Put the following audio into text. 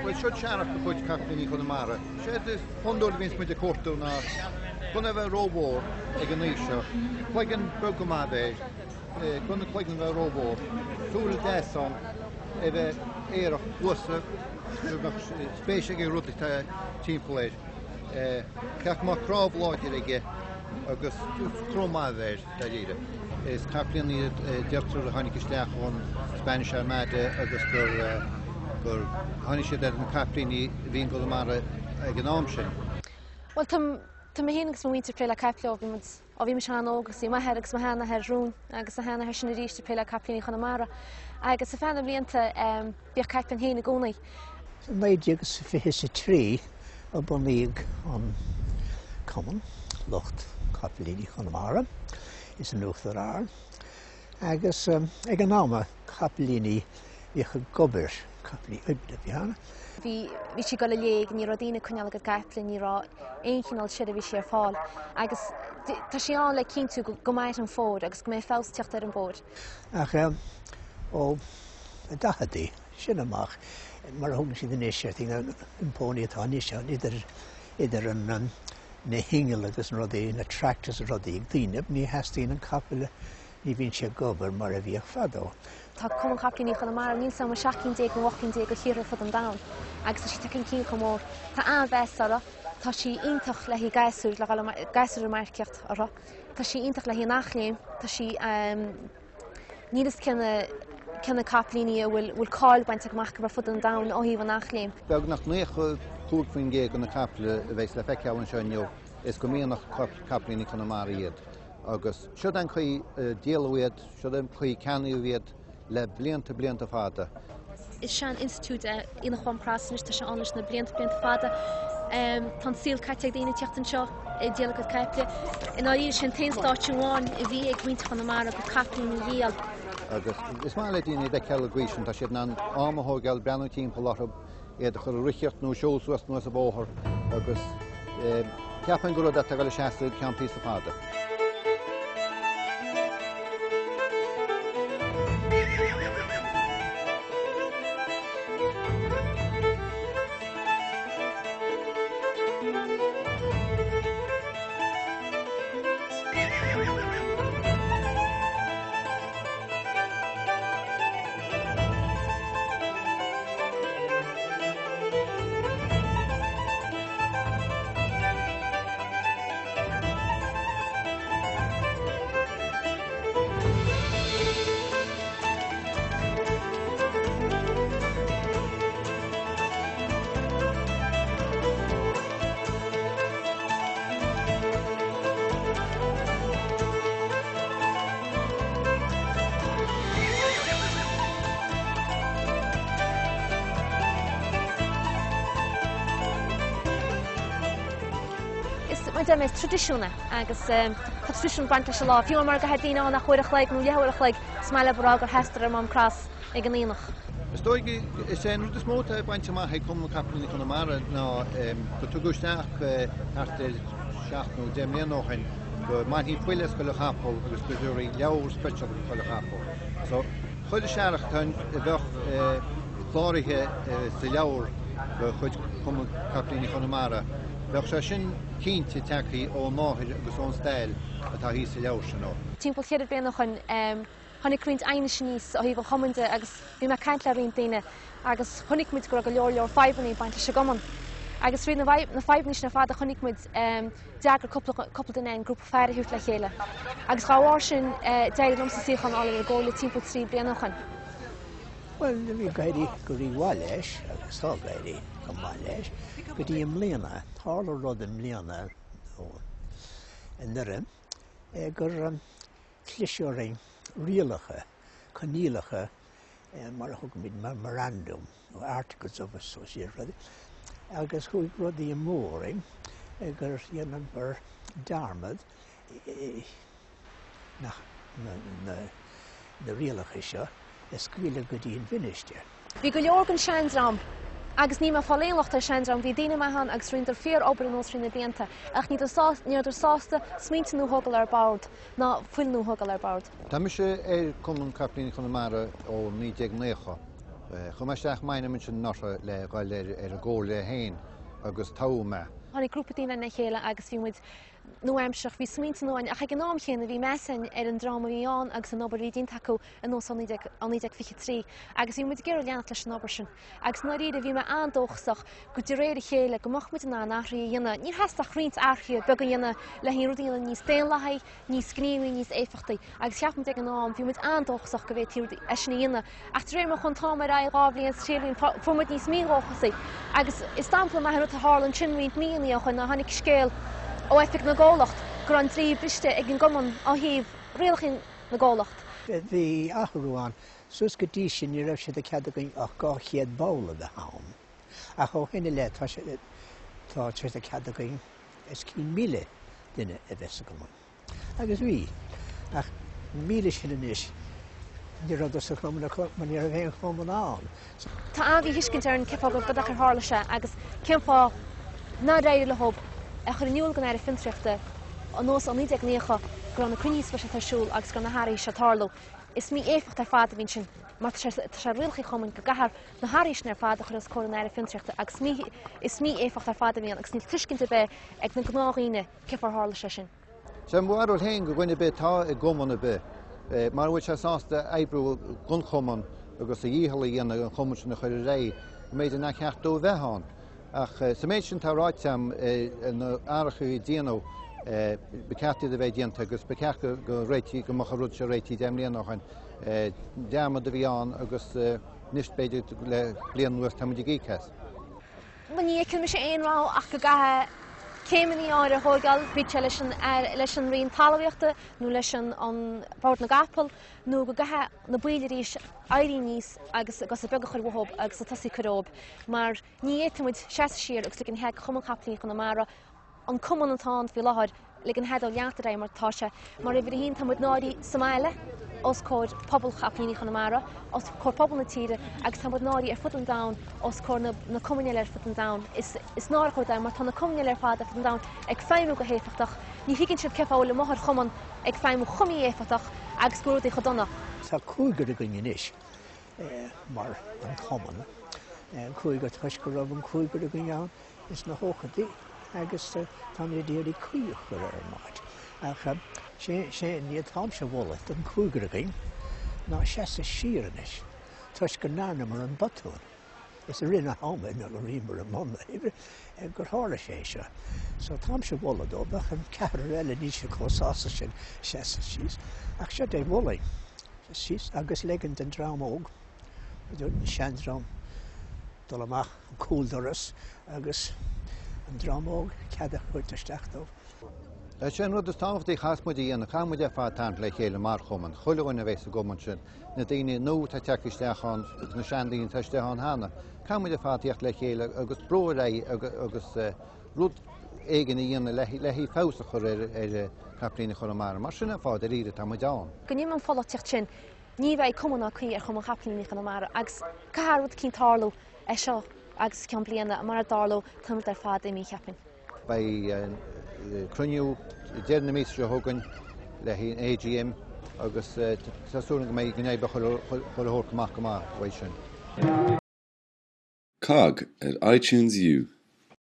Well, should Sharach the Put Captain in Connemara? Shed is Pondor Vince with the Corto now. Whenever Robo, Eganisha, Quagan Burgomabe, Gunna Quagan Robo, Tool Desson, Eve Air Worcester, Spacing Rutti Team Play. Kakma Crop Lodge, August Cromave, Tadida. Is Captain Director of the Hanikistach on Spanish Armada, August for Hanisha that Captain being Connemara Economshin. Well, Tá héanagus mí péile capla a bhí seán ógus í maitheragus maithana ar rún agus a hena sin ríiste péile caplaí Connemara agus sa fanna blianta bíoh caplan héna gúnaí. Maid agus fihis trí a buníag an Common Locht Caplaí Connemara is an nuachtar ar agus ag an náma Caplaí bhíocha gobar Caplaí Ubda bhíanana. Bhí si go le léag ní rodína chuneal go caplan ní rá éoncinál siad a bhí sé ar fáil agus tá sé an le cinnú go maiid an fód agus go mé fáilteocht ar an bód. Ach ó dachadaí sin amach mar thugna si den éisiart an impóní atá níos idir an na hingeal agus an rudaí na tractas a rudaí ag daoineh ní heastíon an capla ní bhíonn sé gobar mar a bhíoh fadó. Tá Common Caplaí Connemara níl sama 16 go 18 go chiaadh fud an dam agus si tacinn cín go mór. Tá an bheitsara tá si ionintach le hí gaiisiúr le gaiisiúr marceacht ará. Tá si ionintach le hí nachléim, tá si nílas cinna caplaíní bhfuil cáil baint amach go fud an dam ó híomh nachléim. Beag nach nécha cúgfuin gé go na capla a bheits le feiceáin seo is go míonach Caplaí Connemara iad. Agus siod an chuí díalúiad, siod an chuí ceanúiad le blianta fada. Is sean institút ina chuan prasan is tá se anis na blianta fada. Tá síl caiiteag daoine teachtain seo i díala go capla. In áír sin taonstáitiúháin i bhí ag muinte Connemara go caplaí na díal. Agus is má le daoine de ceall grísin tá siad an ámathógeil breanú timp láthab iad chur richeart nó seolsúas nó a bóthir agus ceapan go rud a go le seaasta ceampí sa fada. Dem is tradiisiúna agus tradiisiún baint se lá. Fiú mar go headíine nach chuireach le nó leabhach le smaile brá gur heistar am cras ag an íonach. Stoigi is sé nu is móta baint má he Common Caplaí Connemara ná go tugusteach hartar seaachnú déimléanóchain go maithí puiles go le chapol agus goúirí leabhar speisial go le chapol. So chuide seaach tain i bheith chláirithe sa leabhar go chuid Common Caplaí Connemara. Bheith sé sin cínte teachtaí ó máthir agus ón stail atá hí sa leabhar sin ó. Timpeall chéad bliana chun tháinig cuint aine níos ó híh chomainte agus bhí me caiint le rion daine agus tháinig muid go leor feibhaní baint se goman. Agus rí na feibhní na fada tháinig muid deagar coppla duine an grúpa fear hiút le chéile. Agus gáhhair sin déir lom sa síochan ála ar ggóla timpeall trí bliana chun. Well, bhí gaiirí go dtí bhá leis agus tá gaiirí go bhá leis go dtí am mbliana, thála rud am mbliana in nuireann gur clisisiúirí rialacha, coníalacha mar a thug míid memorandum ó Articles of Association agus chuig rudaí am móring gur dhéanamh bar darmad na rialacha seo scuile go dtí an bhinisteir. Bhí go leor an seanrám agus ní fáléonlacht ar seanrám bhí daine maihan agus rionntar fear obair an ósrin na déanta ach níidir sásta smíntanú thugal ar bord ná fuilnú thugal ar bord. Tá me sé Common Caplaí Connemara ó 1990 Chumaisteach maine min sin nota le gáil ar a ggóil le hain agus táma. Honnig grúpa tína na chéile agus bhí muid nuaimseach bhí smínta nóin a ag an nám chéanana bhí mesan ar an drama bhíán agus an obair dín taú an nó aníideag fi trí agus bhí muid ggéir leanana leis an obair sin. Agus nó iad a bhí me andóchsach go dtí réir chéile go mocht muid ná nachraí dhéanana ní heach riint archiú be go dhéanana le hí ruúdaíanana níos déalaithe níos scríú níos éfachtaí agus cheap muid ag an nám bhí muid andóchsach go bhéh tíú eisna dhéanana ach réir mo chun támar a gáblíonn trílíonn fuid níos míóchasaí agus is stampla me a hálan sinmhaint míí chun na hanig scéal ó efik na gálacht gur an trí briste ag an goman á híh réalchin na gálacht. Bhí ahrúán sus go dtí sin ní raibh sé a ceadagan ach gá chéad bála a hám. A cho hinine le tá sé a ceadagan is 100,000 duine a bheits go. Agus bhí ach 1,000 sin inis ní rud sa chumna man ar a bhéon chumán an. Tá a bhí hiiscint ar an ceá go godach ar hála se agus ceimá ná réidir le hob a chur nniuúil gan ar a fintriachta an nós an níideag níocha gur an na cuníos fe tarsúil agus gur na háirí se táló. Is mí éfacht ar fád a bhín sin mar sé rialchaí chumann go gahar na háiríis ar fád a chur cóir an ar a fintriachta agus is mí éfacht ar fád a bhíon agus níl tuiscinnta be ag na gnághíine cear hála se sin. Sem bhharúil hain go gine be tá i gomana be. Mar bhfuil se sásta ebrú gunchoman agus a díhala dhéana an choman sin na chuir ré méid na ceachtú bheitán. Ach sa méid sin táráitsam an áracha í déanú becatí a bheith déanta agus bececha go réití go macharúd se réití déimlíonachchain deama a bhíán agus níos beidir le blian nuas tamid gíchas. Man ní cin me sé éonrá ach go gathe céimení áir a thógáil bhí leis an rion talhaíochta nó leis an Páirt na Gapal nó go gathe na buileirí éirí níos agus a bega chuir bhthób agus a tasí chorób, mar ní émuid se siar agus an heag chumman chaplaí chun na mara an cuman antá bhí láthir le an headal leantar mar táise, mar bhí hín tamid náirí Somáile os cóir pobl chaplaíní chun na mara, os cóir pobl na tíre agus tamid náirí ar fut an da os cóir na cumaine ar fut an da. Is ná chuir da mar tá na cumaine ar fád a fut an da ag féimú go héfachtach, ní higann siad ceáil le mothir chuman ag féimú chumí éfachtach agus gúir chu donna. Tá cúigur a gonne inis mar an choman cúigur tuis go raibh an cúigur a gneán is na hóchadaí agus tá déirí cuiúch go ar máid. Ach sé níiad tám se bhla an cúigur a gin ná sé sa sianis tuis go nána mar an batún. Is a rinne hámaid nó a rímar a mna gur hála sé se. So tám se bhla dóbach an cear eile ní se cóása sin sé síos ach sé é bhlaí síos agus legant an drámóg dúirt an seanrám dul amach an cúldoras agus an drámóg ceada chuirteisteachtóh. Sin rud is táhtaí chasmuid íana chamuid a fátáint le chéile mar chuman, chuilehain a bhééis a goman sin na daine nó tá teisteán na seandaíon teisteán hána. Chamuid a fátíocht le chéile agus bróré agus rud éigen íana lehí fása chur ar chaplína chur mar mar sinna fád a ríre tá deán. Go níman fáteocht sin ní bheith cumna chuí ar chum chaplaíní chun mar agus caharúd cín tálú é seo agus cean bliana mar a dáló tamid ar fád mí cheapin. Cruniú déirna mí se thugann le hí AGM agus tasúna go méid gnéib chuthach go má bhaid sin. Cog at iTunes U.